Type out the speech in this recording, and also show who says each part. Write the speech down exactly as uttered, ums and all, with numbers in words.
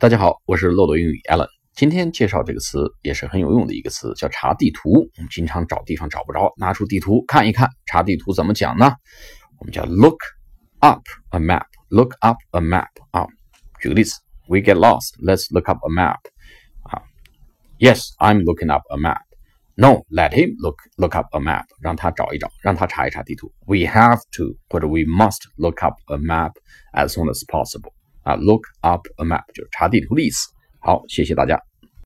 Speaker 1: 大家好，我是漏斗英语 Alan。今天介绍这个词也是很有用的一个词，叫查地图。我们经常找地方找不着，拿出地图看一看。查地图怎么讲呢？我们叫 look up a map. Look up a map 啊。举个例子 ，We get lost. Let's look up a map. 啊 ，Yes, I'm looking up a map. No, let him look look up a map. 让他找一找，让他查一查地图。We have to 或者 we must look up a map as soon as possible. 啊 ，look up a map 就是查地图的意思。好，谢谢大家。